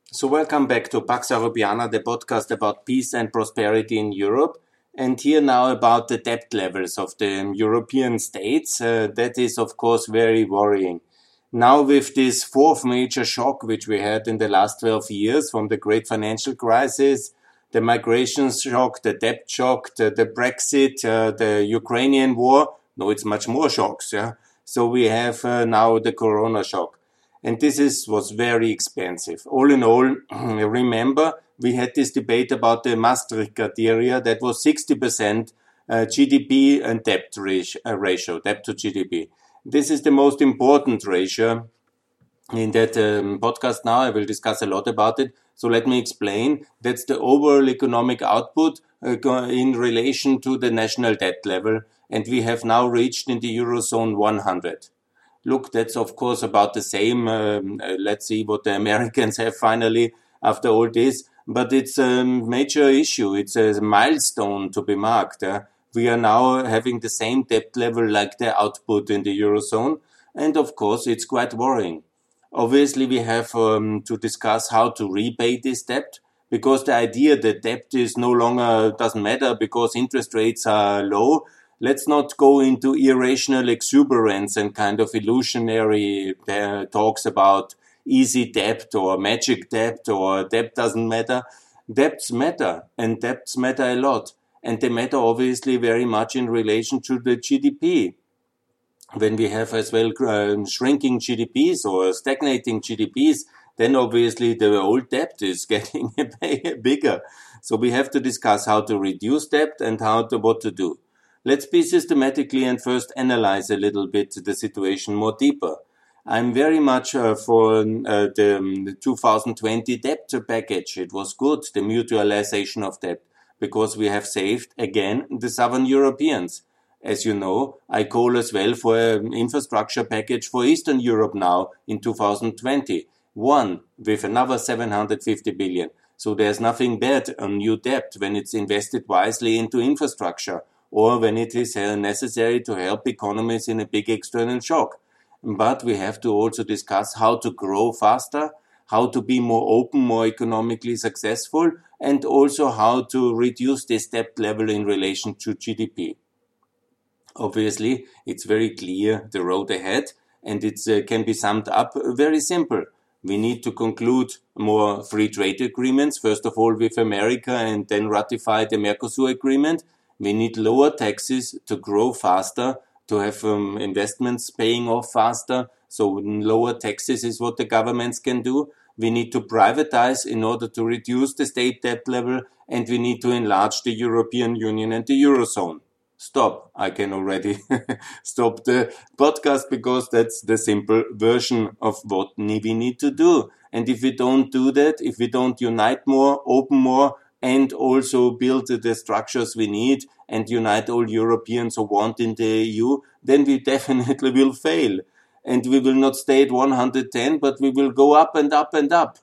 So welcome back to Pax Europiana, the podcast about peace and prosperity in Europe. And here now about the debt levels of the European states. That is, of course, very worrying. Now with this fourth major shock, which we had in the last 12 years from the great financial crisis, the migration shock, the debt shock, the Brexit, the Ukrainian war. No, it's much more shocks. Yeah. So we have now the Corona shock. And was very expensive. All in all, remember, we had this debate about the Maastricht criteria that was 60% GDP and debt ratio, debt to GDP. This is the most important ratio in that podcast now. I will discuss a lot about it. So let me explain. That's the overall economic output in relation to the national debt level. And we have now reached in the Eurozone 100. Look, that's of course about the same. Let's see what the Americans have finally after all this. But it's a major issue. It's a milestone to be marked. We are now having the same debt level like the output in the Eurozone. And of course, it's quite worrying. Obviously, we have to discuss how to repay this debt, because the idea that debt is no longer doesn't matter because interest rates are low. Let's not go into irrational exuberance and kind of illusionary talks about easy debt or magic debt or debt doesn't matter. Debts matter, and debts matter a lot. And they matter obviously very much in relation to the GDP. When we have as well shrinking GDPs or stagnating GDPs, then obviously the old debt is getting bigger. So we have to discuss how to reduce debt and what to do. Let's be systematically and first analyze a little bit the situation more deeper. I'm very much for the 2020 debt package. It was good, the mutualization of debt, because we have saved, again, the Southern Europeans. As you know, I call as well for an infrastructure package for Eastern Europe now in 2020. One, with another 750 billion. So there's nothing bad on new debt when it's invested wisely into infrastructure, or when it is necessary to help economies in a big external shock. But we have to also discuss how to grow faster, how to be more open, more economically successful, and also how to reduce this debt level in relation to GDP. Obviously, it's very clear the road ahead, and it can be summed up very simple. We need to conclude more free trade agreements, first of all with America, and then ratify the Mercosur agreement. We need lower taxes to grow faster, to have investments paying off faster. So lower taxes is what the governments can do. We need to privatize in order to reduce the state debt level, and we need to enlarge the European Union and the Eurozone. Stop. I can already stop the podcast because that's the simple version of what we need to do. And if we don't do that, if we don't unite more, open more, and also build the structures we need and unite all Europeans who want in the EU, then we definitely will fail. And we will not stay at 110, but we will go up and up and up.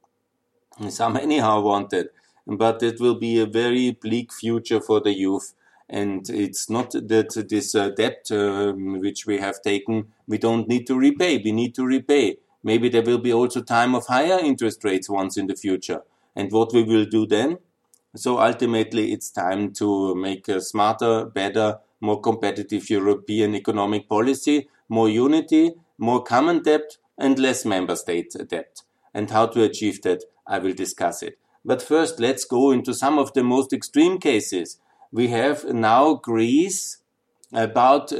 Some anyhow want it. But it will be a very bleak future for the youth. And it's not that this debt which we have taken, we don't need to repay. We need to repay. Maybe there will be also time of higher interest rates once in the future. And what we will do then? So ultimately, it's time to make a smarter, better, more competitive European economic policy, more unity, more common debt, and less member state debt. And how to achieve that, I will discuss it. But first, let's go into some of the most extreme cases. We have now Greece about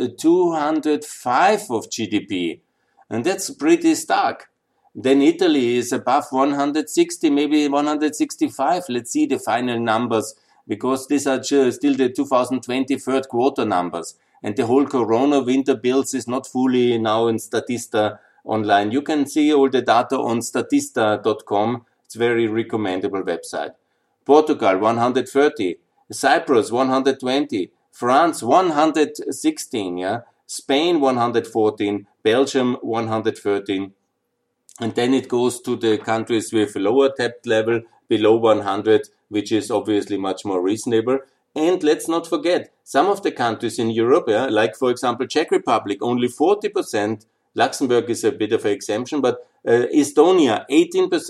205 of GDP. And that's pretty stark. Then Italy is above 160, maybe 165. Let's see the final numbers, because these are still the 2020 third quarter numbers. And the whole Corona winter bills is not fully now in Statista online. You can see all the data on statista.com. It's a very recommendable website. Portugal, 130. Cyprus, 120. France, 116. Yeah. Spain, 114. Belgium, 113. And then it goes to the countries with lower debt level, below 100, which is obviously much more reasonable. And let's not forget, some of the countries in Europe, like for example Czech Republic, only 40%. Luxembourg is a bit of an exemption, but Estonia, 18%.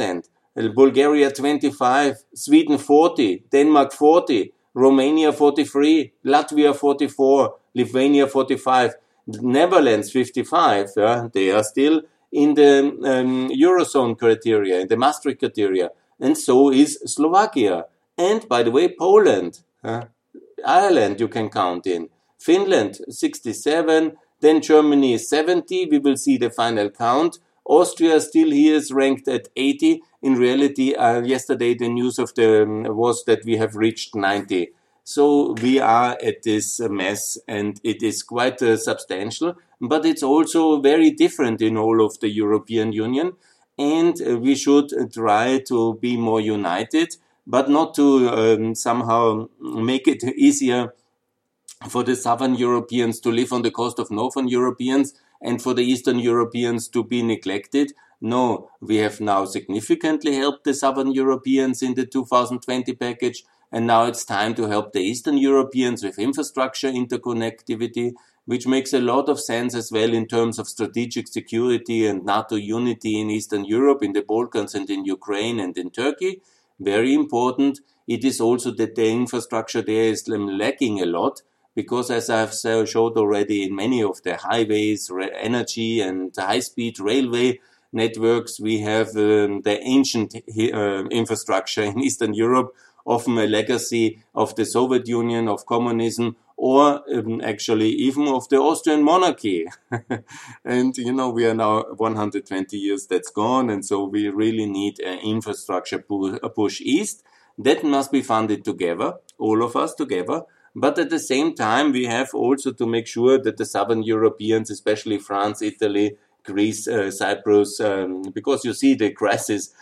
Bulgaria 25, Sweden 40, Denmark 40, Romania 43, Latvia 44, Lithuania 45, Netherlands 55. They are still in the Eurozone criteria, in the Maastricht criteria, and so is Slovakia. And by the way, Poland, Ireland you can count in, Finland 67, then Germany 70, we will see the final count. Austria still here is ranked at 80. In reality, yesterday the news of was that we have reached 90. So we are at this mess, and it is quite substantial, but it's also very different in all of the European Union, and we should try to be more united, but not to somehow make it easier for the Southern Europeans to live on the cost of Northern Europeans and for the Eastern Europeans to be neglected. No, we have now significantly helped the Southern Europeans in the 2020 package, and now it's time to help the Eastern Europeans with infrastructure interconnectivity, which makes a lot of sense as well in terms of strategic security and NATO unity in Eastern Europe, in the Balkans and in Ukraine and in Turkey. Very important. It is also that the infrastructure there is lacking a lot, because as I've showed already in many of the highways, energy and high-speed railway networks, we have the ancient infrastructure in Eastern Europe, often a legacy of the Soviet Union, of communism, or actually even of the Austrian monarchy. And, we are now 120 years that's gone, and so we really need an infrastructure push east. That must be funded together, all of us together. But at the same time, we have also to make sure that the Southern Europeans, especially France, Italy, Greece, Cyprus, because you see the crisis,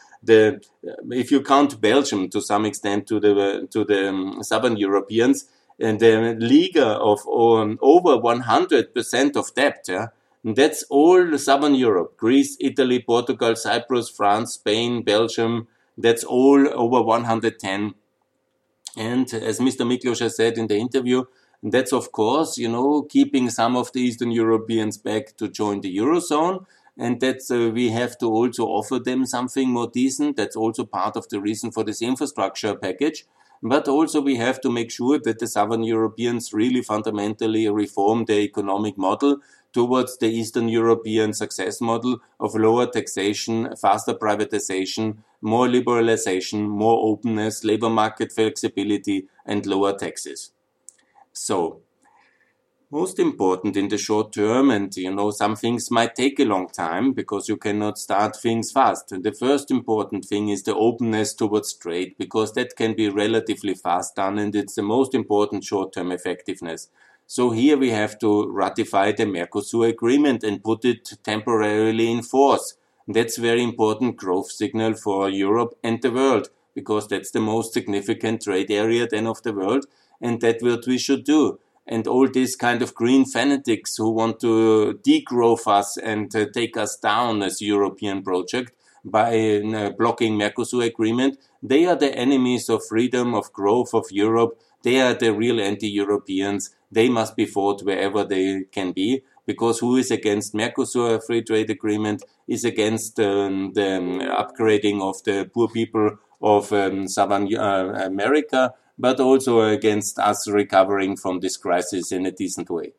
if you count Belgium to some extent to the Southern Europeans, and the league of over 100% of debt, that's all Southern Europe, Greece, Italy, Portugal, Cyprus, France, Spain, Belgium, that's all over 110. And as Mr. Miklos has said in the interview, that's of course, keeping some of the Eastern Europeans back to join the Eurozone. And that's, we have to also offer them something more decent. That's also part of the reason for this infrastructure package. But also we have to make sure that the Southern Europeans really fundamentally reform their economic model towards the Eastern European success model of lower taxation, faster privatization, more liberalization, more openness, labor market flexibility, and lower taxes. So, most important in the short term, and some things might take a long time because you cannot start things fast. And the first important thing is the openness towards trade, because that can be relatively fast done, and it's the most important short-term effectiveness. So here we have to ratify the Mercosur agreement and put it temporarily in force. That's very important growth signal for Europe and the world, because that's the most significant trade area then of the world, and that's what we should do. And all these kind of green fanatics who want to degrowth us and take us down as European project by blocking Mercosur agreement, they are the enemies of freedom, of growth, of Europe. They are the real anti-Europeans. They must be fought wherever they can be, because who is against Mercosur free trade agreement is against the upgrading of the poor people of Southern America, but also against us recovering from this crisis in a decent way.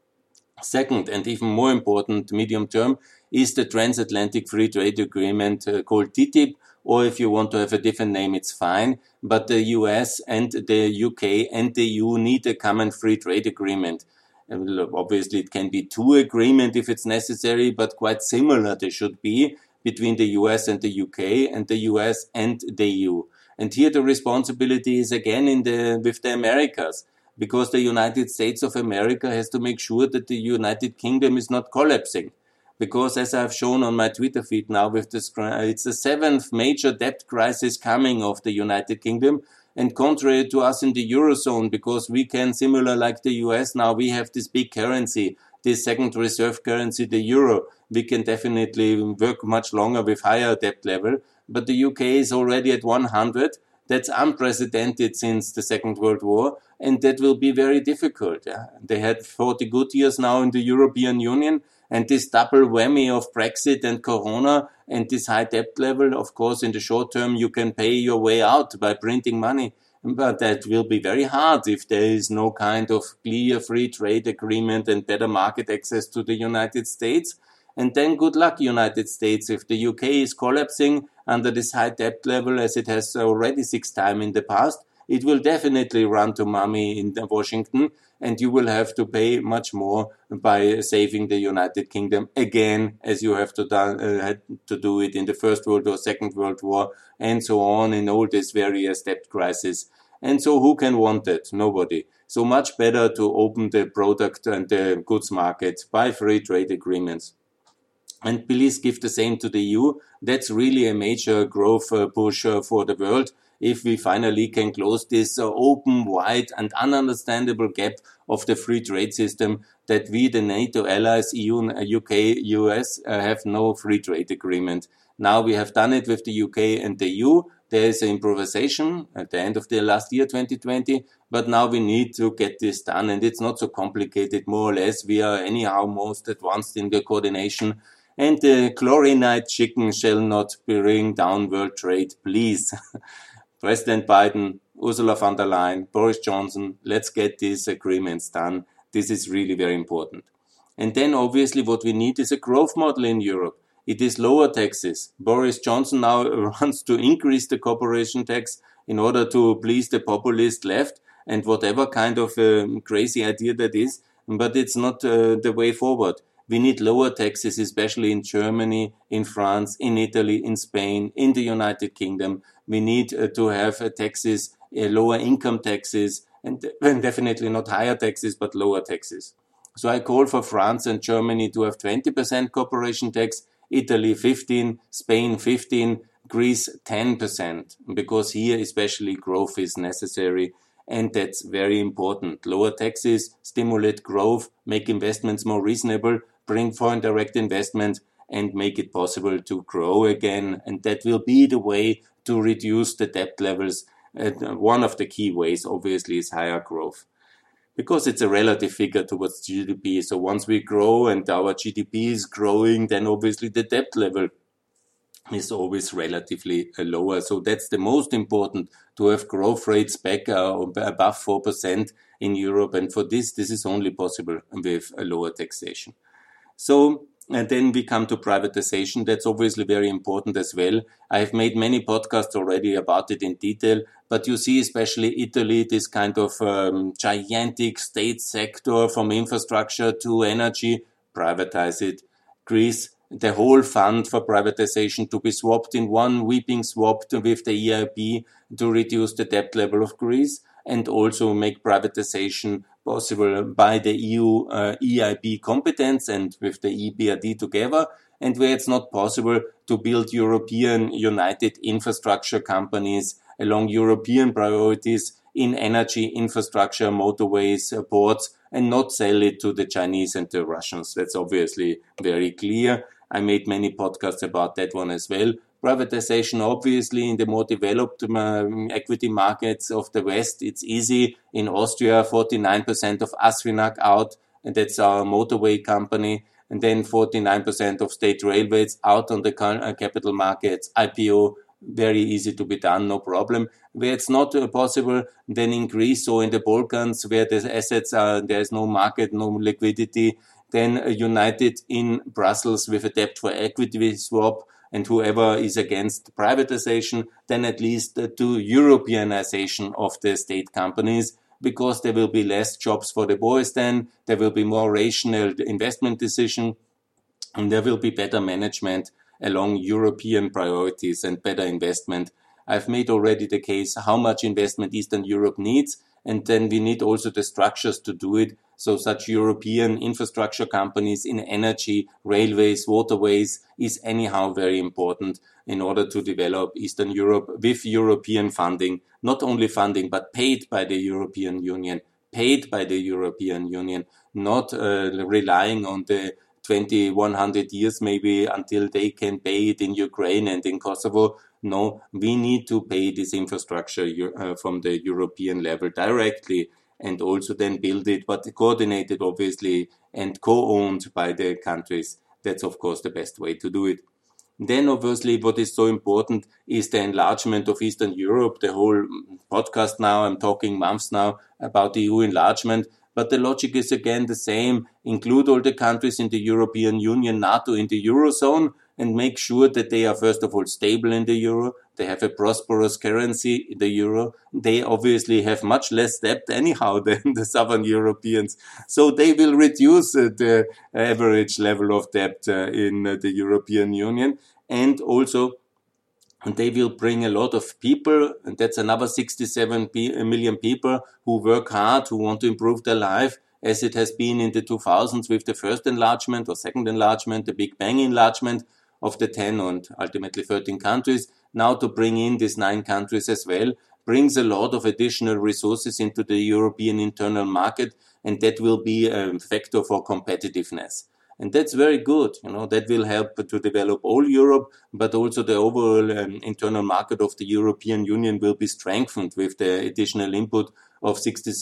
Second, and even more important medium term, is the transatlantic free trade agreement called TTIP, or if you want to have a different name, it's fine. But the US and the UK and the EU need a common free trade agreement. Obviously, it can be two agreements if it's necessary, but quite similar they should be between the US and the UK and the US and the EU. And here the responsibility is again with the Americas, because the United States of America has to make sure that the United Kingdom is not collapsing. Because as I've shown on my Twitter feed now, it's the seventh major debt crisis coming of the United Kingdom. And contrary to us in the Eurozone, because we can, similar like the US now, we have this big currency, this second reserve currency, the euro. We can definitely work much longer with higher debt level. But the UK is already at 100. That's unprecedented since the Second World War, and that will be very difficult. They had 40 good years now in the European Union, And this double whammy of Brexit and Corona and this high debt level, of course, in the short term, you can pay your way out by printing money. But that will be very hard if there is no kind of clear free trade agreement and better market access to the United States. And then good luck, United States. If the UK is collapsing under this high debt level, as it has already 6 times in the past, it will definitely run to mommy in Washington, and you will have to pay much more by saving the United Kingdom again, as you have to had to do it in the First World War, Second World War, and so on, in all these various debt crises. And so who can want it? Nobody. So much better to open the product and the goods market by free trade agreements. And please give the same to the EU. That's really a major growth push for the world. If we finally can close this open, wide and ununderstandable gap of the free trade system that we, the NATO allies, EU, UK, US, have no free trade agreement. Now we have done it with the UK and the EU. There is an improvisation at the end of the last year, 2020, but now we need to get this done, and it's not so complicated, more or less. We are anyhow most advanced in the coordination, and the chlorinite chicken shall not bring down world trade, please. President Biden, Ursula von der Leyen, Boris Johnson, let's get these agreements done. This is really very important. And then obviously what we need is a growth model in Europe. It is lower taxes. Boris Johnson now wants to increase the corporation tax in order to please the populist left and whatever kind of crazy idea that is. But it's not the way forward. We need lower taxes, especially in Germany, in France, in Italy, in Spain, in the United Kingdom. We need to have taxes, lower income taxes, and definitely not higher taxes, but lower taxes. So I call for France and Germany to have 20% corporation tax, Italy 15, Spain 15, Greece 10%, because here especially growth is necessary, and that's very important. Lower taxes stimulate growth, make investments more reasonable, bring foreign direct investment, and make it possible to grow again. And that will be the way to reduce the debt levels. One of the key ways, obviously, is higher growth, because it's a relative figure towards GDP. So once we grow and our GDP is growing, then obviously the debt level is always relatively lower. So that's the most important, to have growth rates back above 4% in Europe. And for this is only possible with a lower taxation. So, and then we come to privatization. That's obviously very important as well. I've made many podcasts already about it in detail, but you see, especially Italy, this kind of gigantic state sector from infrastructure to energy, privatize it. Greece, the whole fund for privatization to be swapped in one weeping swap with the EIB to reduce the debt level of Greece, and also make privatization possible by the EU EIB competence and with the EBRD together, and where it's not possible to build European united infrastructure companies along European priorities in energy infrastructure, motorways, ports, and not sell it to the Chinese and the Russians. That's obviously very clear. I made many podcasts about that one as well. Privatization, obviously, in the more developed equity markets of the West, it's easy. In Austria, 49% of ASFINAG out, and that's our motorway company. And then 49% of state railways out on the capital markets, IPO, very easy to be done, no problem. Where it's not possible, then in Greece or in the Balkans, where the assets are, there's no market, no liquidity, then united in Brussels with a debt for equity swap, and whoever is against privatization, then at least do Europeanization of the state companies, because there will be less jobs for the boys then, there will be more rational investment decision, and there will be better management along European priorities and better investment. I've made already the case how much investment Eastern Europe needs, and then we need also the structures to do it. So such European infrastructure companies in energy, railways, waterways is anyhow very important in order to develop Eastern Europe with European funding, not only funding, but paid by the European Union, not relying on the 100 years maybe until they can pay it in Ukraine and in Kosovo. No, we need to pay this infrastructure from the European level directly. and also then build it, but coordinated obviously and co-owned by the countries. That's of course the best way to do it. Then obviously what is so important is the enlargement of Eastern Europe. The whole podcast now, I'm talking months now about the EU enlargement, but the logic is again the same. Include all the countries in the European Union, NATO, in the Eurozone, and make sure that they are first of all stable in the euro. They have a prosperous currency, the euro. They obviously have much less debt anyhow than the Southern Europeans. So they will reduce the average level of debt in the European Union. And also they will bring a lot of people, and that's another 67 million people who work hard, who want to improve their life, as it has been in the 2000s with the first enlargement or second enlargement, the Big Bang enlargement of the 10 and ultimately 13 countries. Now to bring in these 9 countries as well brings a lot of additional resources into the European internal market, and that will be a factor for competitiveness. And that's very good. That will help to develop all Europe, but also the overall internal market of the European Union will be strengthened with the additional input of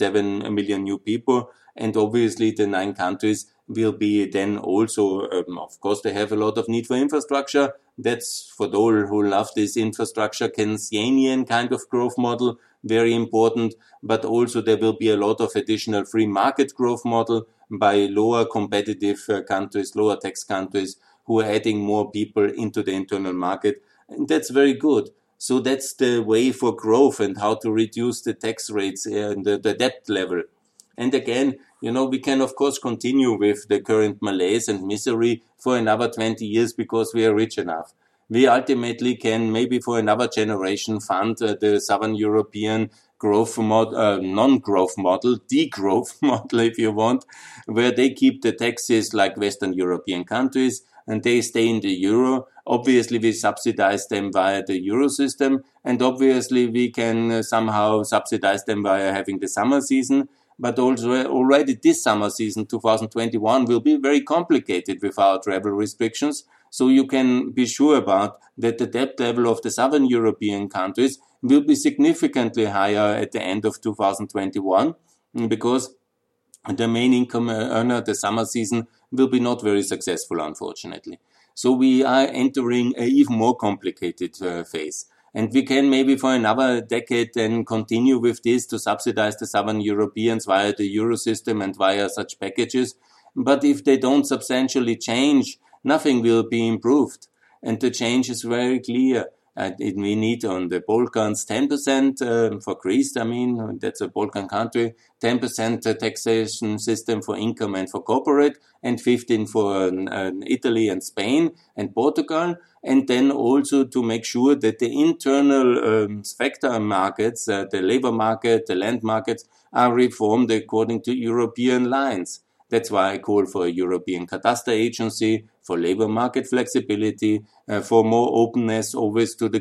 67 million new people. And obviously the 9 countries will be then also, of course, they have a lot of need for infrastructure. That's for those who love this infrastructure Keynesian kind of growth model, very important. But also there will be a lot of additional free market growth model by lower competitive countries, lower tax countries who are adding more people into the internal market. And that's very good. So that's the way for growth and how to reduce the tax rates and the debt level. And again, we can of course continue with the current malaise and misery for another 20 years because we are rich enough. We ultimately can maybe for another generation fund the Southern European growth model, non-growth model, degrowth model if you want, where they keep the taxes like Western European countries and they stay in the euro. Obviously, we subsidize them via the euro system, and obviously we can somehow subsidize them via having the summer season. But also already this summer season, 2021, will be very complicated with our travel restrictions. So you can be sure about that the debt level of the Southern European countries will be significantly higher at the end of 2021 because the main income earner, the summer season, will be not very successful, unfortunately. So we are entering an even more complicated phase. And we can maybe for another decade then continue with this to subsidize the Southern Europeans via the euro system and via such packages. But if they don't substantially change, nothing will be improved. And the change is very clear. We need on the Balkans 10% for Greece, that's a Balkan country, 10% taxation system for income and for corporate, and 15% for Italy and Spain and Portugal. And then also to make sure that the internal sector markets, the labor market, the land markets, are reformed according to European lines. That's why I call for a European cadastre agency, for labor market flexibility, for more openness always to the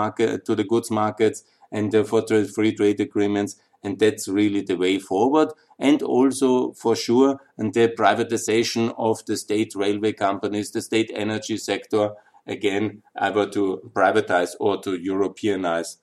goods markets, and for free trade agreements. And that's really the way forward. And also, for sure, the privatization of the state railway companies, the state energy sector, again, either to privatize or to Europeanize.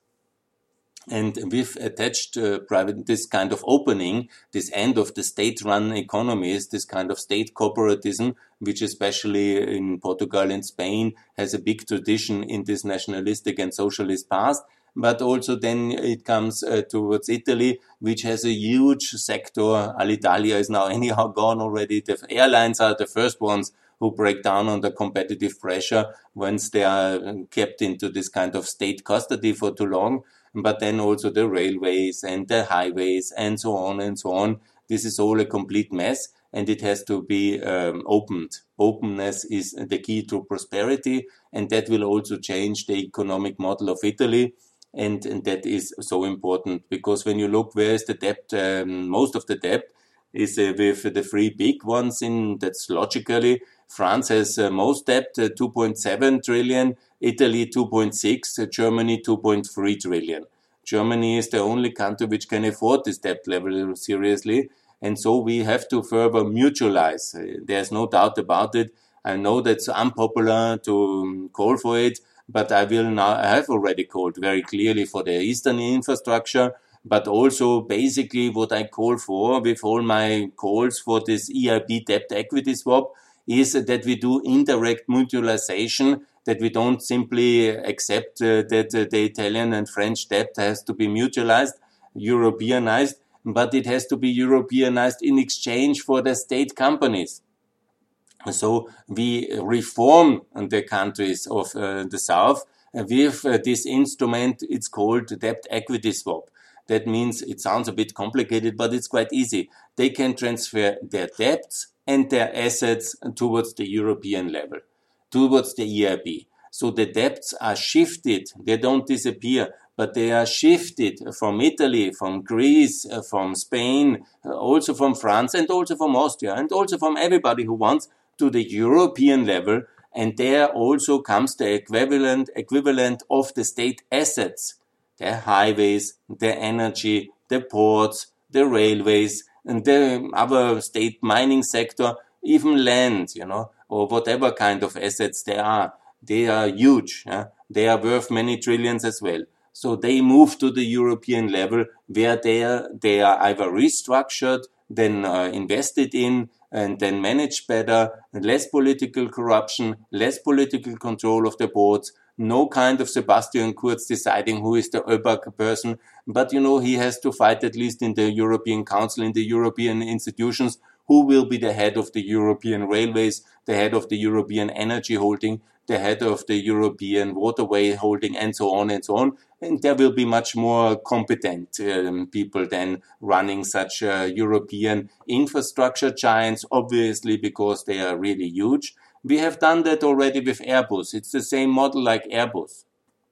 And with attached this kind of opening, this end of the state-run economies, this kind of state corporatism, which especially in Portugal and Spain has a big tradition in this nationalistic and socialist past. But also then it comes towards Italy, which has a huge sector. Alitalia is now anyhow gone already. The airlines are the first ones who break down under competitive pressure once they are kept into this kind of state custody for too long. But then also the railways and the highways and so on and so on. This is all a complete mess and it has to be opened. Openness is the key to prosperity, and that will also change the economic model of Italy. And that is so important because when you look where is the debt, most of the debt is with the 3 big ones that's logically. France has most debt, 2.7 trillion, Italy 2.6, Germany 2.3 trillion. Germany is the only country which can afford this debt level seriously. And so we have to further mutualize. There's no doubt about it. I know that's unpopular to call for it, but I have already called very clearly for the Eastern infrastructure, but also basically what I call for with all my calls for this EIB debt equity swap is that we do indirect mutualization, that we don't simply accept that the Italian and French debt has to be mutualized, Europeanized, but it has to be Europeanized in exchange for the state companies. So we reform the countries of the South with this instrument. It's called debt equity swap. That means it sounds a bit complicated, but it's quite easy. They can transfer their debts and their assets towards the European level, towards the EIB. So the debts are shifted. They don't disappear, but they are shifted from Italy, from Greece, from Spain, also from France, and also from Austria, and also from everybody who wants to the European level. And there also comes the equivalent of the state assets, the highways, the energy, the ports, the railways, and the other state mining sector, even land, or whatever kind of assets there are. They are huge. They are worth many trillions as well. So they move to the European level where they are either restructured, then invested in, and then managed better, less political corruption, less political control of the boards, no kind of Sebastian Kurz deciding who is the ÖBAG person, but he has to fight at least in the European Council, in the European institutions, who will be the head of the European railways, the head of the European energy holding, the head of the European waterway holding, and so on and so on. And there will be much more competent people than running such European infrastructure giants, obviously, because they are really huge. We have done that already with Airbus. It's the same model like Airbus.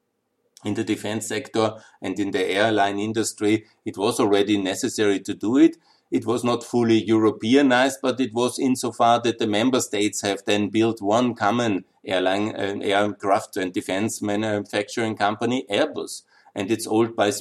In the defense sector and in the airline industry, it was already necessary to do it. It was not fully Europeanized, but it was insofar that the member states have then built one common aircraft and defense manufacturing company, Airbus. And it's owned by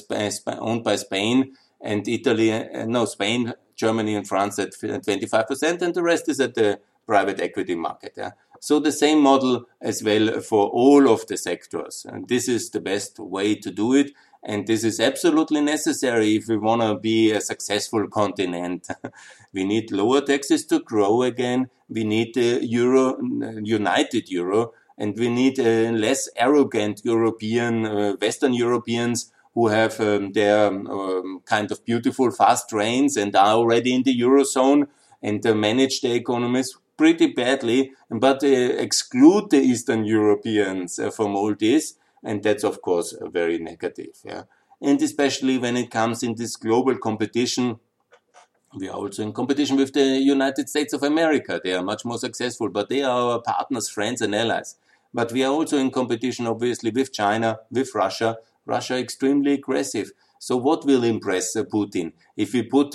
Spain and Italy, Spain, Germany and France at 25%, and the rest is at the private equity market. So the same model as well for all of the sectors. And this is the best way to do it. And this is absolutely necessary if we want to be a successful continent. We need lower taxes to grow again. We need a united euro, and we need less arrogant Western Europeans who have their kind of beautiful fast trains and are already in the Eurozone and manage the economies pretty badly, but exclude the Eastern Europeans from all this. And that's, of course, very negative. And especially when it comes in this global competition, we are also in competition with the United States of America. They are much more successful, but they are our partners, friends, and allies. But we are also in competition, obviously, with China, with Russia. Russia extremely aggressive. So what will impress Putin? If we put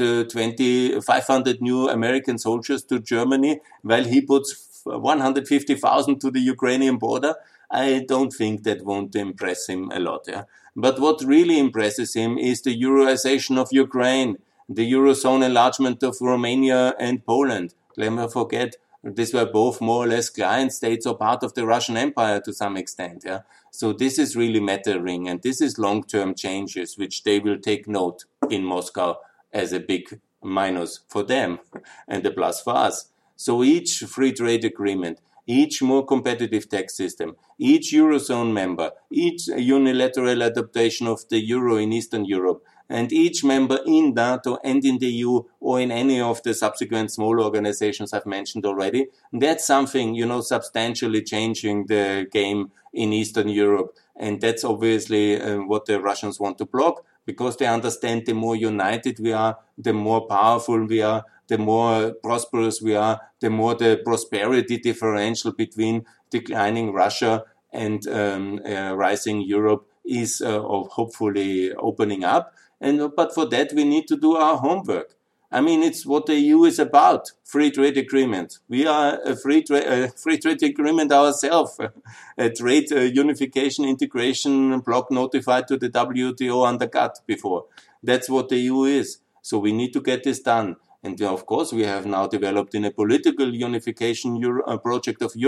500 new American soldiers to Germany, while he puts 150,000 to the Ukrainian border, I don't think that won't impress him a lot. But what really impresses him is the Euroization of Ukraine, the Eurozone enlargement of Romania and Poland. Never forget, these were both more or less client states or part of the Russian Empire to some extent. So this is really mattering, and this is long-term changes which they will take note in Moscow as a big minus for them and a plus for us. So each free trade agreement, each more competitive tax system, each Eurozone member, each unilateral adaptation of the euro in Eastern Europe, and each member in NATO and in the EU or in any of the subsequent small organizations I've mentioned already, that's something, substantially changing the game in Eastern Europe. And that's obviously what the Russians want to block, because they understand the more united we are, the more powerful we are, the more prosperous we are, the more the prosperity differential between declining Russia and rising Europe is hopefully opening up. But for that, we need to do our homework. I mean, it's what the EU is about, free trade agreement. We are a free trade agreement ourselves, a trade unification integration bloc notified to the WTO under GATT before. That's what the EU is. So we need to get this done. And of course, we have now developed in a political unification project of Europe,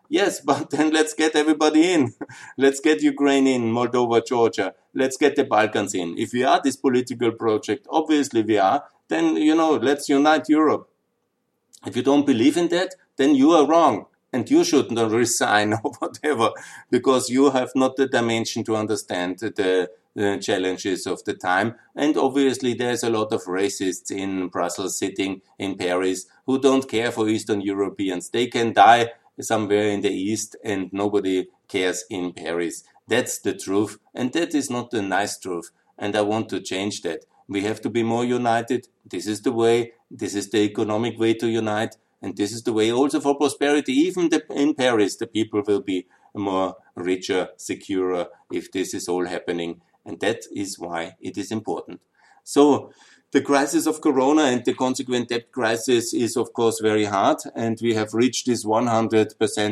Yes, but then let's get everybody in. Let's get Ukraine in, Moldova, Georgia. Let's get the Balkans in. If we are this political project, obviously we are, then, let's unite Europe. If you don't believe in that, then you are wrong. And you should not resign or whatever, because you have not the dimension to understand the challenges of the time. And obviously there's a lot of racists in Brussels sitting in Paris who don't care for Eastern Europeans. They can die somewhere in the East and nobody cares in Paris. That's the truth. And that is not the nice truth. And I want to change that. We have to be more united. This is the way. This is the economic way to unite. And this is the way also for prosperity. Even in Paris, the people will be more richer, securer if this is all happening. And that is why it is important. So the crisis of Corona and the consequent debt crisis is, of course, very hard. And we have reached this 100%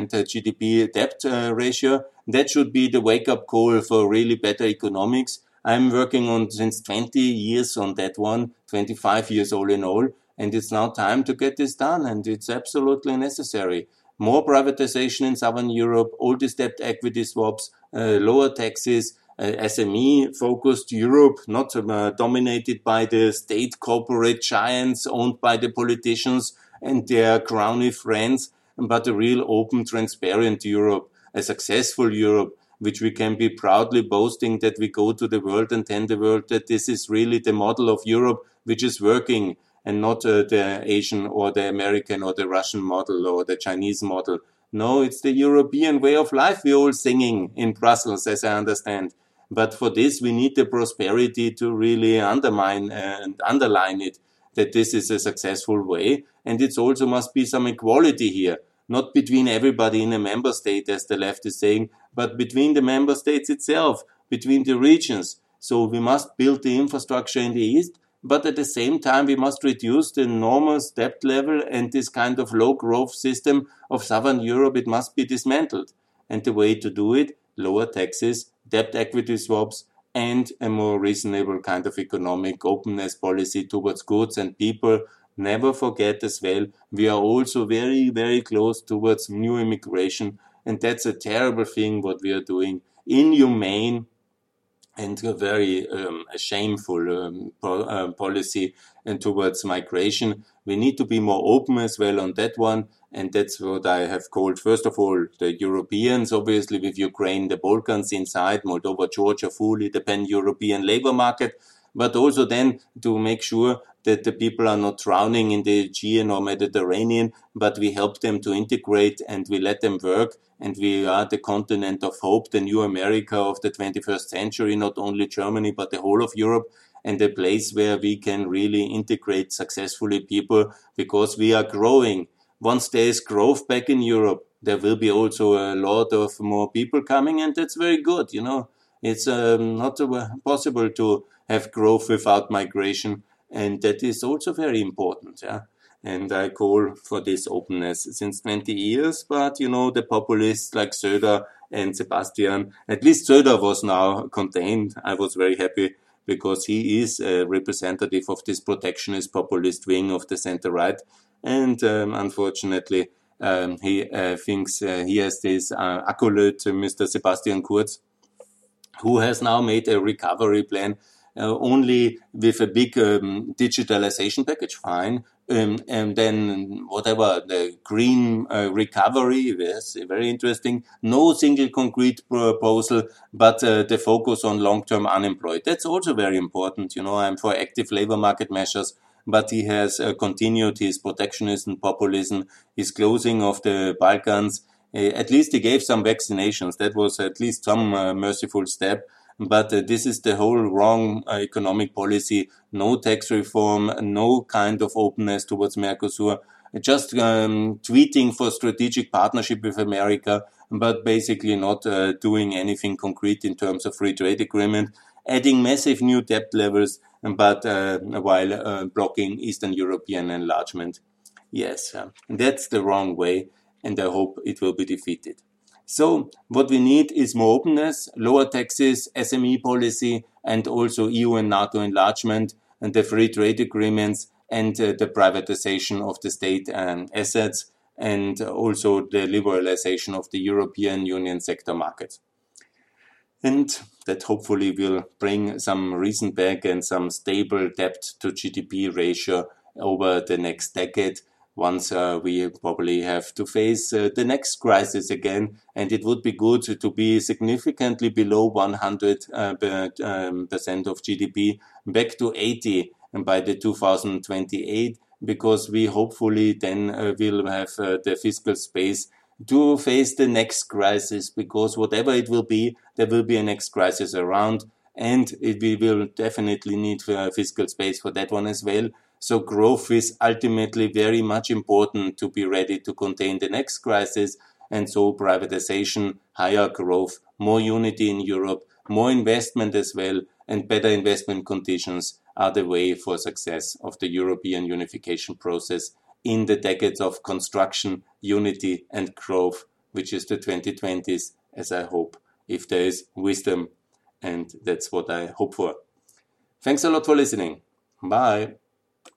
GDP debt ratio. That should be the wake-up call for really better economics. I'm working on since 20 years on that one, 25 years all in all. And it's now time to get this done, and it's absolutely necessary. More privatization in Southern Europe, all these debt equity swaps, lower taxes, SME-focused Europe, not dominated by the state corporate giants owned by the politicians and their crony friends, but a real open, transparent Europe, a successful Europe, which we can be proudly boasting that we go to the world and tell the world that this is really the model of Europe which is working, and not the Asian or the American or the Russian model or the Chinese model. No, it's the European way of life we're all singing in Brussels, as I understand. But for this, we need the prosperity to really undermine and underline it, that this is a successful way. And it also must be some equality here, not between everybody in a member state, as the left is saying, but between the member states itself, between the regions. So we must build the infrastructure in the East, but at the same time, we must reduce the enormous debt level, and this kind of low growth system of Southern Europe, it must be dismantled. And the way to do it, lower taxes, debt equity swaps, and a more reasonable kind of economic openness policy towards goods and people. Never forget as well, we are also very, very close towards new immigration, and that's a terrible thing what we are doing. Inhumane and a very shameful policy and towards migration. We need to be more open as well on that one, and that's what I have called, first of all, the Europeans, obviously with Ukraine, the Balkans inside, Moldova, Georgia, fully the pan-European labor market, but also then to make sure that the people are not drowning in the Aegean or Mediterranean, but we help them to integrate and we let them work. And we are the continent of hope, the new America of the 21st century, not only Germany, but the whole of Europe, and a place where we can really integrate successfully people because we are growing. Once there is growth back in Europe, there will be also a lot of more people coming, and that's very good, It's not possible to have growth without migration, and that is also very important, yeah. And I call for this openness since 20 years. But, the populists like Söder and Sebastian, at least Söder was now contained. I was very happy because he is a representative of this protectionist populist wing of the center-right. And unfortunately, he thinks he has this accolade, Mr. Sebastian Kurz, who has now made a recovery plan only with a big digitalization package, fine. And then whatever, the green recovery, yes, very interesting. No single concrete proposal, but the focus on long-term unemployed. That's also very important. I'm for active labor market measures, but he has continued his protectionism, populism, his closing of the Balkans. At least he gave some vaccinations. That was at least some merciful step. But this is the whole wrong economic policy. No tax reform, no kind of openness towards Mercosur. Just tweeting for strategic partnership with America, but basically not doing anything concrete in terms of free trade agreement. Adding massive new debt levels, but while blocking Eastern European enlargement. Yes, that's the wrong way, and I hope it will be defeated. So what we need is more openness, lower taxes, SME policy, and also EU and NATO enlargement, and the free trade agreements, and the privatization of the state assets. and also the liberalization of the European Union sector market. And that hopefully will bring some reason back and some stable debt to GDP ratio over the next decade, once we probably have to face the next crisis again. And it would be good to be significantly below 100% of GDP, back to 80 by the 2028, because we hopefully then will have the fiscal space to face the next crisis, because whatever it will be, there will be a next crisis around, and we will definitely need fiscal space for that one as well. So growth is ultimately very much important to be ready to contain the next crisis, and so privatization, higher growth, more unity in Europe, more investment as well, and better investment conditions are the way for success of the European unification process in the decades of construction, unity and growth, which is the 2020s, as I hope, if there is wisdom. And that's what I hope for. Thanks a lot for listening. Bye.